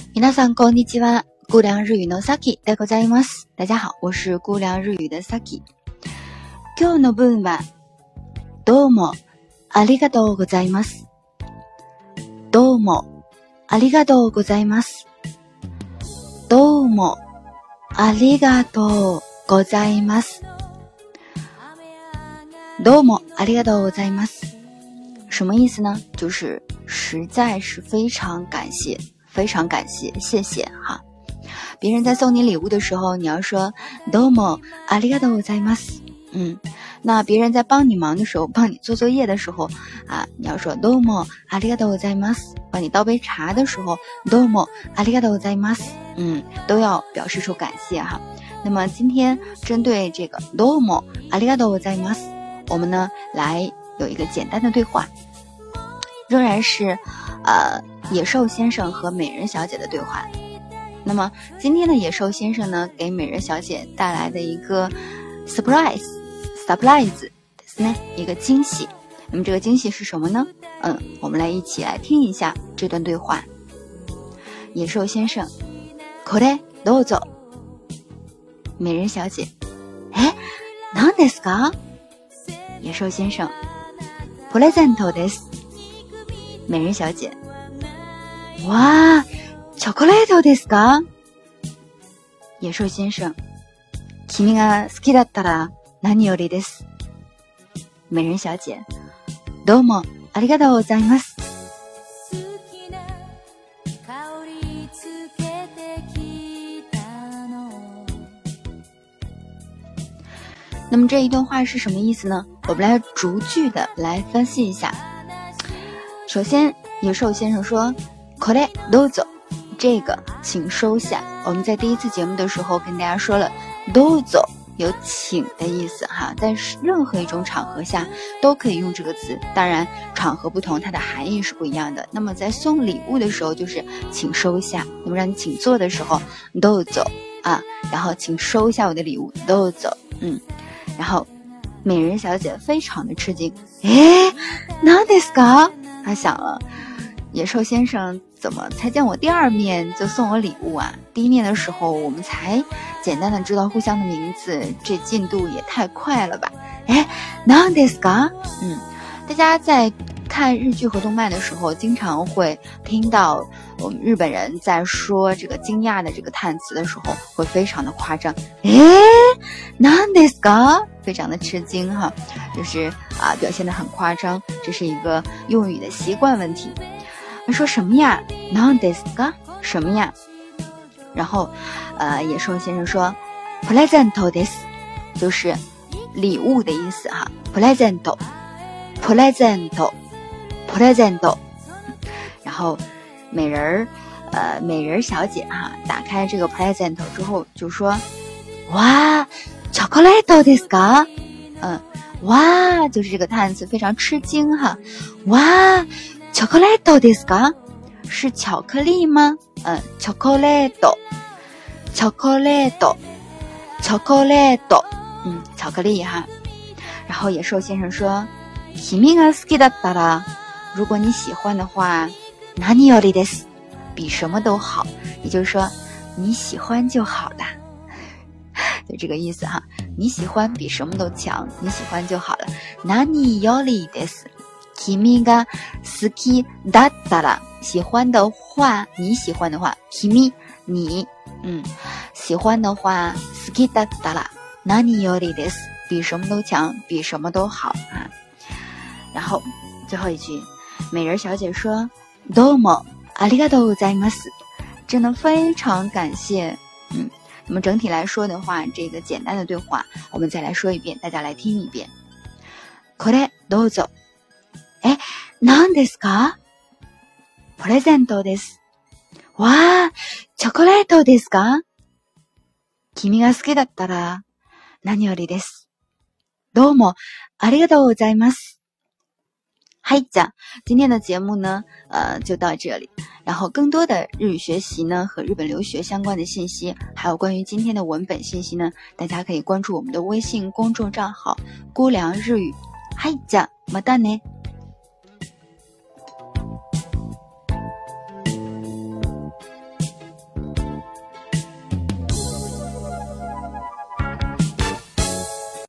皆さんこんにちは。姑凉日语のさきでございます。大家好，我是姑凉日语的さき。今日の文はどうもありがとうございます。どうもありがとうございます。どうもありがとうございます。どうもありがとうございます。什么意思呢？就是实在是非常感谢，非常感谢，谢谢哈。别人在送你礼物的时候，你要说どうもありがとうございます。那别人在帮你忙的时候，帮你做作业的时候啊，你要说どうもありがとうございます。帮你倒杯茶的时候，どうもありがとうございます。都要表示出感谢哈。那么今天针对这个どうもありがとうございます，我们呢来有一个简单的对话，仍然是野兽先生和美人小姐的对话。那么今天的野兽先生呢，给美人小姐带来的一个 surprise ですね，一个惊喜。那么这个惊喜是什么呢？我们来一起来听一下这段对话。野兽先生，これどうぞ。美人小姐，何ですか？野兽先生，プレゼントです。美人小姐，哇，チョコレートですか？野兽先生，君が好きだったら何よりです。美人小姐，どうもありがとうございます。那么这一段话是什么意思呢？我们来逐句的来分析一下。首先，野兽先生说これどうぞ，这个请收下。我们在第一次节目的时候跟大家说了，どうぞ有请的意思哈，在任何一种场合下都可以用这个词，当然场合不同，它的含义是不一样的。那么在送礼物的时候就是请收下，那么让你请坐的时候どうぞ啊，然后请收下我的礼物どうぞ。然后美人小姐非常的吃惊，何ですか？她想了，野兽先生怎么才见我第二面就送我礼物啊？第一面的时候我们才简单的知道互相的名字，这进度也太快了吧？何ですか？大家在看日剧和动漫的时候，经常会听到我们日本人在说这个惊讶的这个叹词的时候，会非常的夸张，何ですか？非常的吃惊哈，就是表现得很夸张，这是一个用语的习惯问题。说什么呀？何ですか？什么呀？然後野兽先生说プレゼントです，就是礼物的意思哈。プレゼント。然后美人小姐哈，打开这个 present 之后就说，哇，チョコレートですか？哇，就是这个叹词非常吃惊哈。哇，チョコレートですか？是巧克力吗？チョコレート，巧克力哈。然后野兽先生说，君が好きだったら，如果你喜欢的话，何よりです，比什么都好，也就是说你喜欢就好了，就这个意思哈。你喜欢比什么都强，你喜欢就好了。何よりです，君が好きだったら，喜欢的话，你喜欢的话，君你，喜欢的话，好きだったら何よりです，比什么都强，比什么都好啊。然后最后一句，美人小姐说どうもありがとうございます，真的非常感谢。那么整体来说的话，这个简单的对话我们再来说一遍，大家来听一遍。これどうぞ。何ですか？プレゼントです。わー、チョコレートですか？君が好きだったら何よりです。どうもありがとうございます。嗨，今天的节目呢，就到这里。然后更多的日语学习呢和日本留学相关的信息，还有关于今天的文本信息呢，大家可以关注我们的微信公众账号“姑凉日语”。嗨，またね。